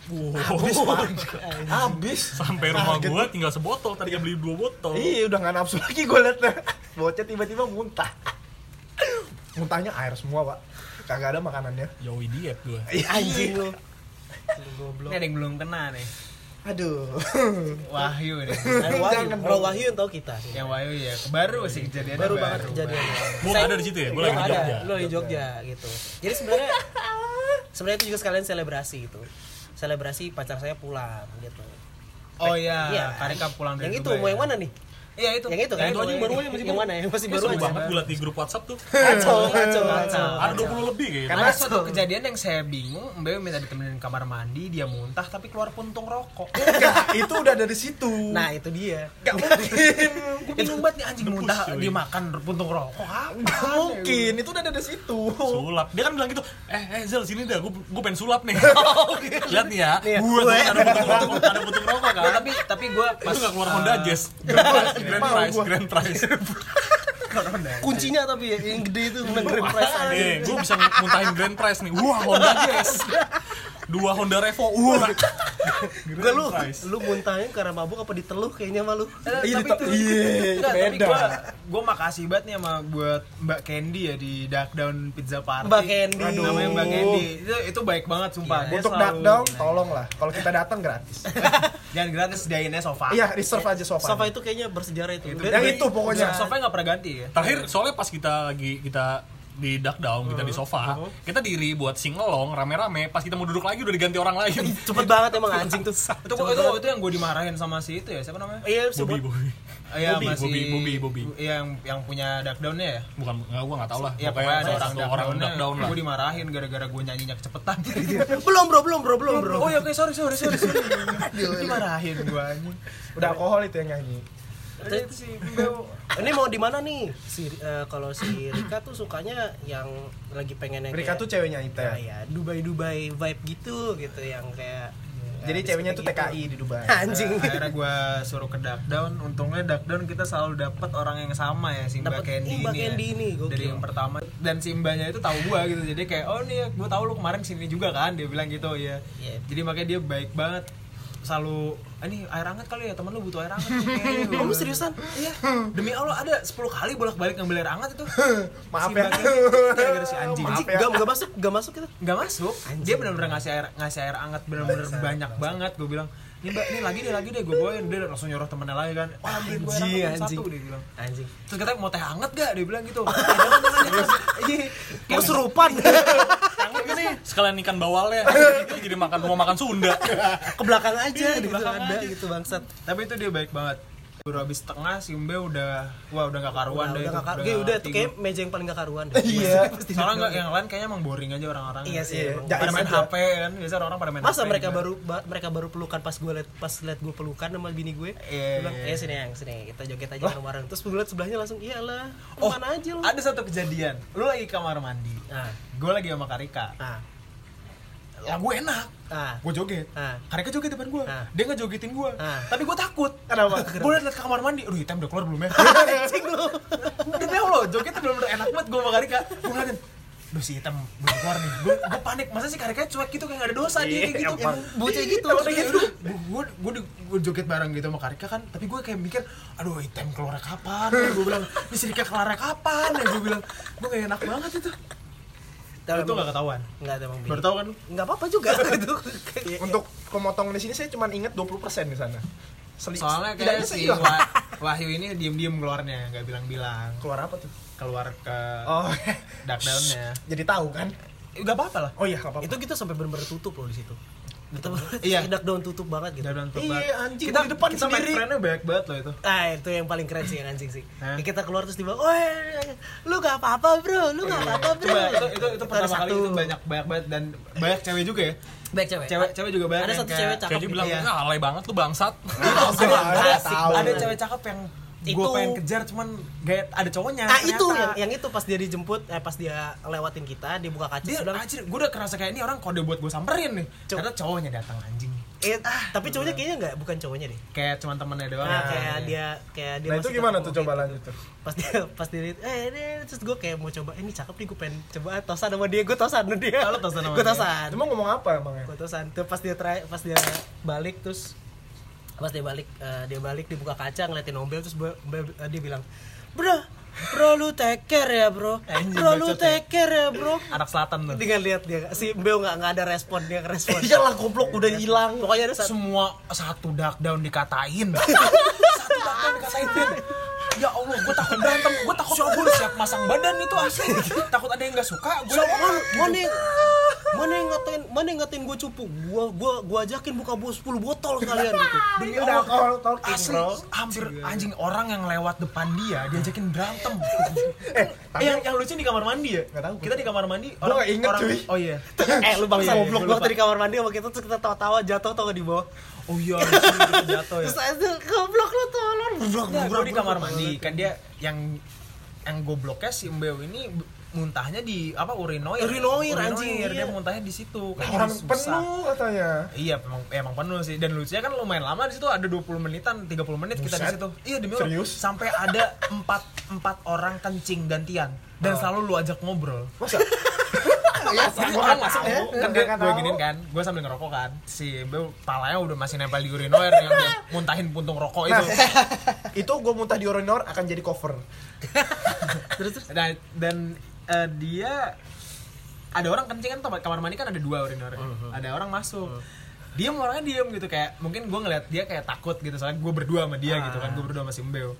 Habis. Sampai rumah gue tinggal sebotol. Tadi beli 2 botol. Iya, udah nggak nafsu lagi gue liatnya. Bocah tiba-tiba muntah. Muntahnya air semua, Pak. Kagak ada makanannya. Yoi diet gue. Anjing lu. Ini ada yang belum kena nih. Aduh. Wahyu nih. Kalau Wahyu yang tahu kita sih. Yang Wahyu ya, baru sih kejadiannya. Baru banget kejadiannya. Gue ada di situ ya, gue lagi di Jogja. Lo di Jogja gitu. Jadi sebenarnya itu juga sekalian selebrasi gitu. Selebrasi pacar saya pulang gitu. Oh iya, Iya. Karika pulang dari Yang itu Dubai mau ya. yang mana nih? Iya itu. Yang itu kan? Yang itu aja yang baru aja, masih yang baru. mana? Yang masih Kayak baru seru aja. banget gue liat di grup WhatsApp tuh. Kacau. Ada 20 lebih kayaknya. Karena suatu kejadian yang saya bingung, Mbak minta ditemenin kamar mandi, dia muntah tapi keluar puntung rokok. Enggak, itu udah dari situ. Nah, itu dia. Gak mungkin. Gue bingung banget nih anjing muntah cuy. dia makan puntung rokok. Gak mungkin, itu udah dari situ. Sulap. Dia kan bilang gitu, Zel sini dah, gue pengen sulap nih. Lihat nih ya, Nih ya, gue gue. ada butuh rokok kan. Tapi gue Itu gak keluar Honda Jazz. Grand Prize. Kuncinya tapi yang gede itu menang Grand Prize. Nih, gue bisa muntahin Grand Prize nih. Wah, Honda Jazz. 2 Honda Revo. Wah. Gue lu muntahin karena mabuk apa diteluh kayaknya malu. Iya, tapi itu beda. beda. Gue makasih banget nih sama buat Mbak Candy ya di Duck Down Pizza Party. Mbak Candy. Aduh. Namanya Mbak Candy. Itu baik banget sumpah. Iya. Dia Untuk selalu- duck down, tolong lah. Kalau kita datang gratis. Jangan gratis, sediainnya sofa. Iya, reserve aja sofa. Sofa itu kayaknya bersejarah itu. Yang itu pokoknya. Sofanya nggak pernah ganti ya. Terakhir soalnya pas kita di duck down, kita di sofa, kita diri buat singelong rame-rame, pas kita mau duduk lagi udah diganti orang lain. Cepet banget emang anjing tuh. Itu yang gue dimarahin sama si itu ya, siapa namanya? Iya, Bobby. Iya, Bobby. Iya, yang punya duck down-nya ya. Bukan, gue gak tau lah. Ya pokoknya ada orang duck down lah. Gue dimarahin gara-gara gue nyanyinya kecepatan. belum bro. Oh ya oke, sorry. Dimarahin gue anjing. Udah alkohol itu yang nyanyi. Itu sih Mbak. Ini mau di mana nih? Kalau si Rika tuh sukanya yang lagi pengen yang Rika tuh ceweknya itu. ya Dubai vibe gitu yang kayak Jadi ceweknya tuh gitu. TKI di Dubai. Anjing. Akhirnya gue suruh ke duck down. Untungnya duck down kita selalu dapat orang yang sama ya, si Mbak Dapet Candy Mbak ini. Candy ini, gokil. Dari yang pertama, dan si Mbaknya itu tahu gue gitu. Jadi kayak, oh nih gue tahu lu kemarin sini juga kan, dia bilang gitu ya. Iya. Jadi makanya dia baik banget. Selalu, ini air hangat kali ya, teman lu butuh air hangat. Kamu seriusan? Iya. Demi Allah ada 10 kali bolak-balik ngambil air hangat itu. Maaf Si ya. Mbak Candy, gara-gara si anjing. Maaf ya. Gak masuk itu. Nggak masuk. Dia benar-benar ngasih air hangat benar-benar banyak banget. Gue bilang, "Nih Mbak, ini lagi deh gue bawain." Dia langsung nyuruh temennya lagi kan. "Wah, ambilin gue air hangat satu," dia bilang. Anjing. Terus katanya, "Mau teh hangat gak?" Dia bilang gitu. Jangan. Kesurupan. Sekalian ikan bawalnya, itu jadi mau makan Sunda. Ke belakang aja Di gitu belakang ada aja. gitu bangsat. Tapi itu dia baik banget. Baru habis setengah si Mbe udah gak karuan deh. Udah tuh kayak meja yang paling gak karuan deh. Iya. Soalnya nggak, yang lain kayaknya emang boring aja orang-orang. Iya sih. Iya. emang. Pada main Jais aja. HP kan, biasa orang pada main Masa HP. mereka baru pelukan pas liat gue pelukan sama bini gue. Iya. Gue bilang, sini kita joget aja bareng-bareng. Terus gue liat sebelahnya langsung, iyalah, Oh, kemana aja lu. ada satu kejadian. Lu lagi kamar mandi. Nah, Gue lagi sama Karika. Lagu enak. Gue joget. Ah. Karika joget depan gue. Ah. Dia ngejogetin gue. Ah. Tapi gue takut. Kenapa? Gue liat ke kamar mandi. Aduh, hitam udah keluar belum ya? anjing lu. Demi Allah, jogetnya bener-bener enak banget gue sama Karika. Gue ngeliatin, duh si hitam belum keluar nih. Gue panik, masa sih Karika cuek gitu kayak gak ada dosa dia kayak gitu. Bocah gitu. Gue joget bareng gitu sama Karika kan. Tapi gue kayak mikir, aduh hitam keluar kapan? Gue bilang, ini si Rika keluar kapan? Ya gue bilang, gue gak enak banget itu. Itu gak ketahuan. Enggak ada emang. Baru tau kan lu? Enggak apa-apa juga gitu. Untuk pemotong di sini saya cuma inget 20% di sana. Soalnya Tidaknya kayak si hilang. Wahyu ini diem-diem keluarnya, gak bilang-bilang. Keluar apa tuh? Keluar ke Oh, duck down-nya. jadi tahu kan? Gak apa-apa lah. Oh iya, nggak apa-apa. Itu kita sampai bener-bener tutup loh di situ. Kita Iya. Duck down tutup banget gitu. Duck down tutup Iya, banget. anjing, Kita di depan kita main sendiri. friend-nya banyak banget loh itu. Itu yang paling keren sih yang anjing sih. Hah? Ya, kita keluar terus tiba, "Woi, lu gak apa-apa, Bro. Lu gak apa-apa, Bro." Itu pertama kali itu banyak banget dan banyak cewek juga ya. baik cewek. Cewek juga banyak. Ada yang satu kayak- cewek cakep. Kayak dia bilang, Iya. alay banget lu bangsat. ada cewek cakep yang gue Itu- pengen kejar cuman gak ada cowoknya. Ah itu ternyata. yang itu pas dia dijemput, pas dia lewatin kita, dia buka kaca dia bilang, anjir, gue udah kerasa kayak ini orang kode buat gue samperin nih. Ternyata cowoknya datang anjing. tapi cowoknya kayaknya nggak, bukan cowoknya deh. Kayak cuman temennya doang. Nah, ya. kayak dia Nah itu masih gimana ketemu tuh coba gitu. lanjut tuh? Pas dia lihat, ini terus gue kayak mau coba, ini cakep nih, gue pengen coba tosan sama dia, gue tosan sama dia. Kalau tosan sama Gue dia. tosan. Cuma ngomong apa emangnya? Gue tosan. Terus pas dia balik terus dia balik dibuka kaca ngeliatin Nobel terus dia bilang, "Bro, Bro lu take care ya bro. Anjing, Bro lu bacot ya. take care ya bro. Anak selatan tuh. Tinggal lihat dia, si Mbeo nggak ada respon, dia respon. Iyalah goblok udah hilang. Pokoknya ada Semua satu dark down dikatain. Satu dark down dikatain. Ya Allah, gue takut berantem, gue takut gue siap masang badan itu asli. Takut ada yang nggak suka, gue mana yang ngatain gue cupu, gue ajakin buka 10 botol sekalian gitu. Demi udah talking asli, bro. hampir anjing orang yang lewat depan dia diajakin berantem. Yang lucu di kamar mandi ya? Nggak tahu. Kita di kamar mandi. Gua nggak inget, cuy. Oh iya. Lu bangsa Oh iya, goblok gua banget lupa. di kamar mandi sama kita, terus kita tawa-tawa jatuh tau gak di bawah. Oh iya, kita jatuh ya. Terus aja goblok lu tolong. Gue di kamar mandi kan dia yang gobloknya si Mbeo ini muntahnya di apa urinoir Anjing, dia iya. muntahnya di situ kan Orang susah. penuh katanya. Iya emang penuh sih, dan lucunya kan lumayan lama di situ, ada 20 menitan 30 menit kita di Buset. situ. Iya demi Allah. Serius? Sampai ada 4 orang kencing gantian dan selalu lu ajak ngobrol. Masa? Ya, orang masuk ya. Kan gue tahu. giniin kan, gue sambil ngerokok kan. Si Mbeo palanya udah masih nempel di urinoir yang dia muntahin puntung rokok itu. Itu gue muntah di urinor akan jadi cover. Terus Dan dia ada orang kencing kan, kamar mandi kan ada 2 urinor. Ada orang masuk. Dia orangnya diem gitu, kayak mungkin gue ngeliat dia kayak takut gitu, soalnya gue berdua sama dia gitu kan, gue berdua sama si Mbeo.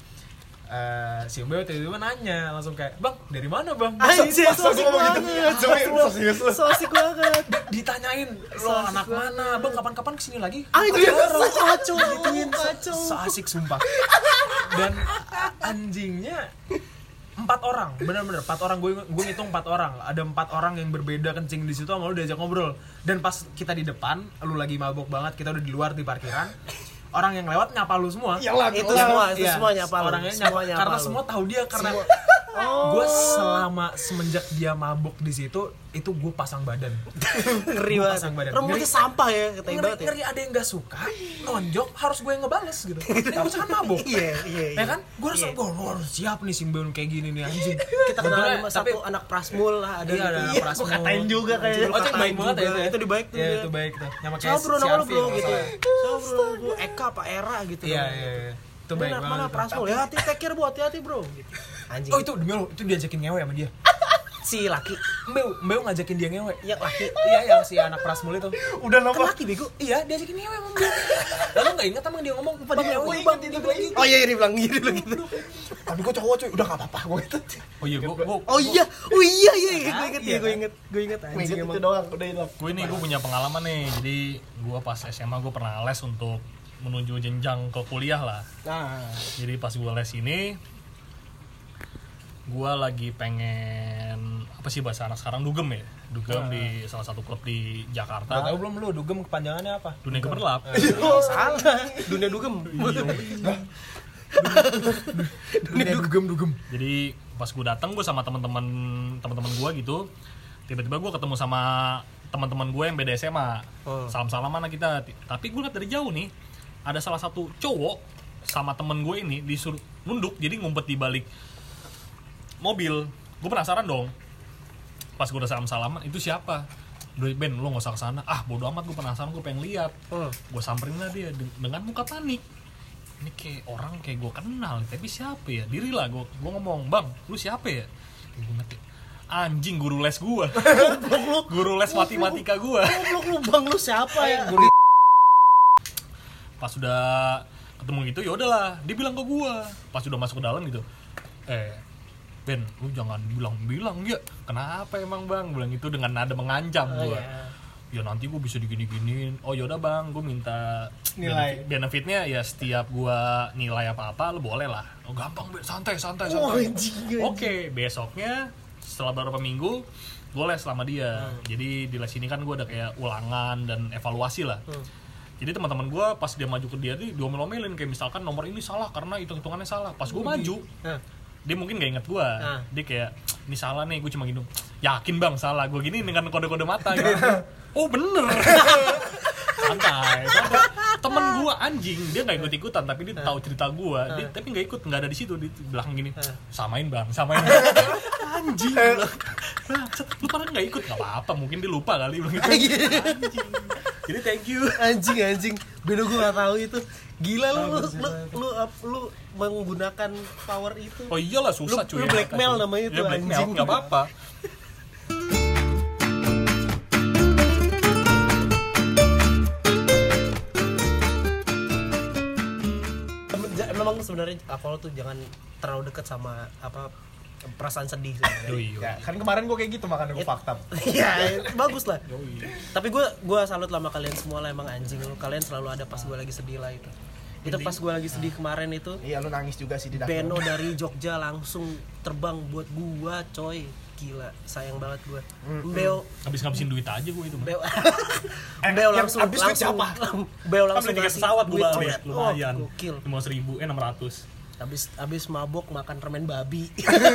Si Mbeo tiba-tiba nanya langsung kayak, "Bang, dari mana bang?" anjir, Masa so asik gua ngomong gitu? banget. Serius lu? So asik banget. Ditanyain, "Lo anak mana? Bang, kapan-kapan kesini lagi?" Anjir, kacau gituin, kacau. So asik sumpah. Dan anjingnya 4 orang, bener-bener 4 orang, gue ngitung 4 orang. Ada 4 orang yang berbeda kencing di situ sama lu diajak ngobrol. Dan pas kita di depan, lu lagi mabok banget, kita udah di luar di parkiran. Orang yang lewat nyapa lu semua. Iyalah, Itu Iya, semua nyapa lu. orangnya Semua nyapa, karena lu. semua tahu dia, karena gue selama semenjak dia mabok di situ itu gue pasang badan. Ngeri Gua banget. pasang badan. Rambutnya Ngeri. sampah ya, katanya banget ya. Ngeri ada yang gak suka, nonjok, harus gue yang ngebales gitu. Gue kan mabok. Iya. Ya kan? Gue harus siap nih Simbeon kayak gini nih anjing. Kita kenal Sebetulnya, sama tapi satu anak Prasmul lah, ada iya, ada gitu. Prasmul. Gua katain juga kayaknya. Oh, cek baik banget ya itu ya. Itu di baik tuh Iya, dia. itu baik tuh. Nama Siapa bro, si nama lu Alfi, bro kalau gitu. salah. Siapa bro, gua Eka apa Era gitu. Iya, namanya. iya. Itu baik Mana banget. Prasmul ya, hati take care bro, hati-hati bro gitu. Anjing. Oh, itu demi lo, itu diajakin ngewe sama dia. Si laki, Mbeu ngajakin dia ngewe. yang laki. Iya, yang si anak Prasmul itu. Udah Kan nama. laki bego. Iya, diajakin ngewe sama Mbeu. Lalu enggak ingat emang dia ngomong, "Bang, ngewe Gue bang." inget itu, gue inget. Oh iya, dia bilang gitu. Tapi gue cowok cuy, udah gak apa-apa gue itu. Oh iya, Oh iya, gue inget, Iya, gue inget Gue anjing inget emang. itu doang, udah hilang. gue punya pengalaman nih. Jadi gue pas SMA gue pernah les untuk menuju jenjang ke kuliah lah. Nah, Jadi pas gue les ini, gue lagi pengen apa sih bahasa anak sekarang, dugem ya, dugem di salah satu klub di Udah Jakarta. tahu belum lu dugem kepanjangannya apa? Dunia gemerlap. salah. Dunia dugem. Dunia dugem. Jadi pas gue datang, gue sama teman-teman gue gitu, tiba-tiba gue ketemu sama teman-teman gue yang beda SMA. Salam-salaman kita. Tapi gue liat dari jauh nih, ada salah satu cowok sama temen gue ini disuruh nunduk, jadi ngumpet di balik mobil. Gue penasaran dong. Pas gue udah salam-salaman, itu siapa? Udah, Ben, lo gak usah kesana. Ah, bodo amat, gue penasaran, gue pengen lihat. Gue samperin lah dia dengan muka panik. Ini kayak orang kayak gue kenal, tapi siapa ya? Diri lah, gue ngomong, "Bang, lu siapa ya?" Gue mati. Anjing, guru les gue. Guru les matematika gue. Goblok lu bang, lu siapa ya? Pas udah ketemu gitu, ya udahlah, dia bilang ke gue. Pas udah masuk ke dalam gitu, Ben, lu jangan bilang-bilang ya. Kenapa emang bang? Bilang itu dengan nada mengancam gue. Ya nanti gue bisa digini-giniin. Oh yaudah bang, gue minta Nilai. benefitnya ya setiap gue nilai apa-apa lu boleh lah. Oh gampang Ben, santai. Oke, besoknya setelah beberapa minggu gue les sama dia. Jadi di les ini kan gue ada kayak ulangan dan evaluasi lah. Jadi teman-teman gue pas dia maju ke dia tuh diomel-omelin, kayak misalkan nomor ini salah karena hitung-hitungannya salah. Pas gue maju, dia mungkin gak inget gue. Dia kayak, "Ini salah nih," gue cuma gini, "Yakin bang salah?" Gue gini dengan kode-kode mata gitu. Oh bener. Santai. Temen gue anjing, dia gak ikut-ikutan, tapi dia tahu cerita gue. Dia tapi gak ikut, gak ada di situ. Di belakang gini, samain bang. Anjing. Lu pada nggak ikut? Nggak apa-apa, mungkin dia lupa kali bilang gitu. Anjing. Jadi thank you. Anjing. Beno gue nggak tahu itu. Gila lu menggunakan power itu. Oh iyalah susah cuy. Lu blackmail namanya itu, ya, blackmail, anjing. nggak apa-apa. Memang sebenarnya alkohol tuh jangan terlalu dekat sama perasaan sedih sebenarnya. Ya, kan kemarin gue kayak gitu makanya gue fakta. Iya, bagus lah. Tapi gue salut lah sama kalian semua lah, emang anjing lu. Kalian selalu ada pas gue lagi sedih lah itu. Itu pas gue lagi sedih kemarin itu. Iya, lu nangis juga sih di dapur. Beno dari Jogja langsung terbang buat gua, coy. Gila, sayang banget gua. Beo Habis-ngabisin duit aja gue itu. Beo yang langsung habis duit siapa? Beo Kan langsung beli tiket ngasih pesawat duit, gue coy. lumayan. Oh, gokil. 600. Habis mabok makan permen babi.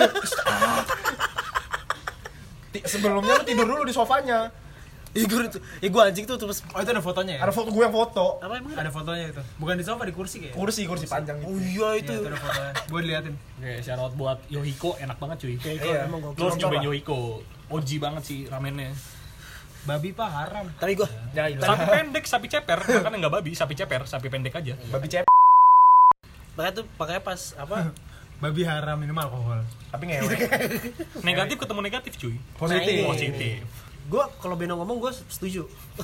Sebelumnya lu tidur dulu di sofanya. Gua anjing tuh terus. Oh itu ada fotonya ya? Ada foto gue yang foto. Apa emang? Ada fotonya itu. Bukan di sofa, di kursi kayaknya. Kursi panjang Oh gitu. iya Itu itu. ada fotonya. Gue diliatin. Oke, shout out buat Yohiko, enak banget cuy. Iya. Emang Lu gokil. harus cobain Yohiko. OG banget sih ramennya. Babi pak haram. Tapi gua Ya, itu. Sapi pendek, sapi ceper, kan enggak babi, sapi ceper, sapi pendek aja. Babi cep. makanya pas apa? Babi haram minum alkohol. Tapi ngewe. Negatif ketemu negatif cuy. Positif. Positif. Gua kalau Beno ngomong gua setuju.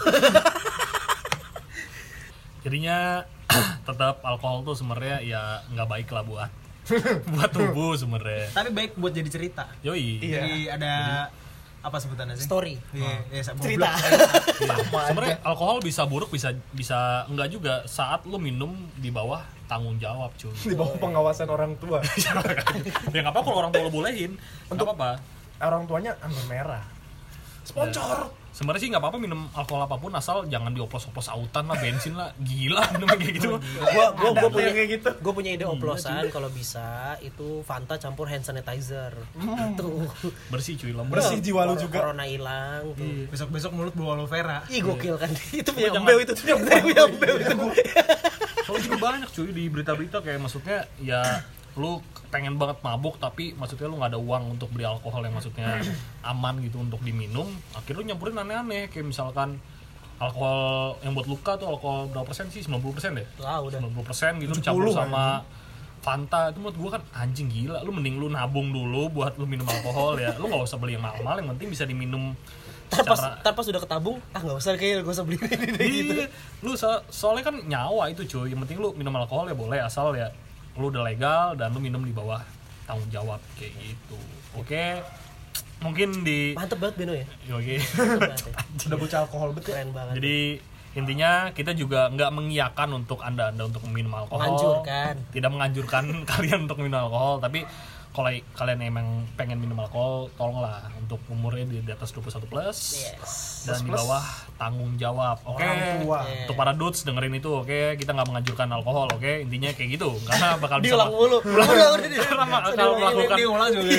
Jadinya tetap alkohol tuh sebenarnya ya nggak baik lah buat tubuh sebenarnya. Tapi baik buat jadi cerita. Yoi. Iya. Jadi ada apa sebutannya sih? Story. Iya, Cerita. Iya. Sebenarnya alkohol bisa buruk, bisa enggak juga saat lu minum di bawah tanggung jawab cuy. Di bawah pengawasan orang tua. Ya nggak apa kalau orang tua lo bolehin. Nggak apa-apa. Orang tuanya anggur merah. Sponsor. Sebenarnya sih nggak apa-apa minum alkohol apapun asal jangan dioplos-oplos autan lah, bensin lah, gila minum kayak gitu. Gua punya kayak gitu. Gue punya ide oplosan kalau bisa itu Fanta campur hand sanitizer. Tuh. Bersih cuy, lembut. Bersih jiwa lu juga. Corona hilang tuh. Besok-besok mulut bawa aloe vera. Ih gokil kan. Itu punya Jangan- Mbeo itu. Punya Mbeo itu. Soalnya juga banyak cuy di berita-berita kayak maksudnya ya lu pengen banget mabuk tapi maksudnya lu nggak ada uang untuk beli alkohol yang maksudnya aman gitu untuk diminum, akhirnya lu nyampurin aneh-aneh kayak misalkan alkohol yang buat luka tuh alkohol berapa persen sih? 90% deh? Wah, udah. 90% gitu 70 campur sama Fanta. Itu menurut gua kan anjing gila, lu mending lu nabung dulu buat lu minum alkohol ya, lu nggak usah beli yang mahal-mahal, yang penting bisa diminum secara Ntar pas udah ketabung, nggak usah kayaknya gak usah beli ini gitu. iya, lu soalnya kan nyawa itu cuy, yang penting lu minum alkohol ya boleh asal ya lu udah legal dan lu minum di bawah tanggung jawab kayak gitu. Oke, mungkin di Mantep banget Beno ya. oke. Udah bocah alkohol betul. Keren banget. Jadi intinya kita juga nggak mengiyakan untuk anda untuk minum alkohol. Menganjurkan. Tidak menganjurkan kalian untuk minum alkohol, tapi kalau kalian emang pengen minum alkohol, tolonglah untuk umurnya di atas 21 plus Yes. dan di bawah tanggung jawab. Oke. Orang tua. Untuk para dudes dengerin itu, oke, kita nggak menganjurkan alkohol, oke, intinya kayak gitu, karena bakal bisa Diulang mulu. Udah dia. karena kalau melakukan Dia ngulang juga.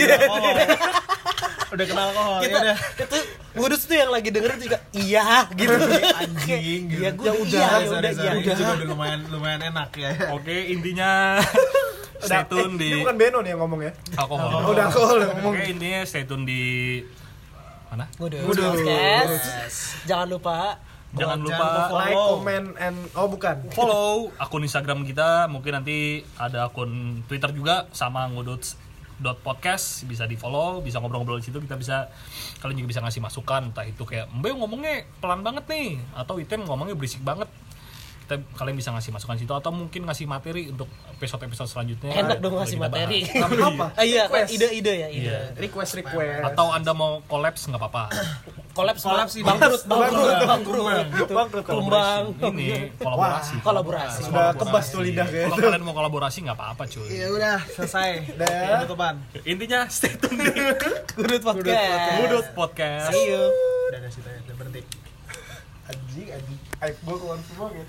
Udah kenal alkohol. Kita itu ngudus tuh yang lagi dengerin juga iya gitu. Anjing gitu. Iya gua udah iya. Ini juga udah lumayan enak ya. oke, intinya stay tune di Ini bukan Beno nih yang ngomong ya. alkohol. Oh, udah alkohol yang ngomong. Oke, intinya stay tune di mana? Ngudus podcast. Jangan lupa Jangan lupa Like, comment, and bukan. follow akun Instagram kita, mungkin nanti ada akun Twitter juga sama nguduts.podcast, bisa di follow, bisa ngobrol-ngobrol di situ, kita bisa, kalian juga bisa ngasih masukan, entah itu kayak Mbak ngomongnya pelan banget nih atau Item ngomongnya berisik banget, kalian bisa ngasih masukan situ atau mungkin ngasih materi untuk episode selanjutnya. enak dong ngasih Kita materi. bahas. Apa? Iya, Request. ide ya, ide. Iya. Request. Atau Anda mau collabs nggak apa-apa. Kolaps sih, bangkrut. Bangkrut. Tumbang. Ini kolaborasi. Kolaborasi. Sudah kebas tuh lidah Kalau gitu. kalian mau kolaborasi nggak apa-apa cuy. Ya udah, selesai. Udah. Penutupan. Intinya stay tune di Ngudut podcast. Ngudut Podcast. See you. Udah situ ya, udah berhenti. Anjing. Aib gua keluar semua gitu.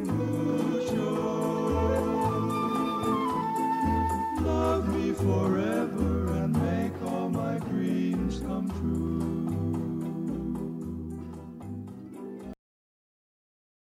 Love me forever.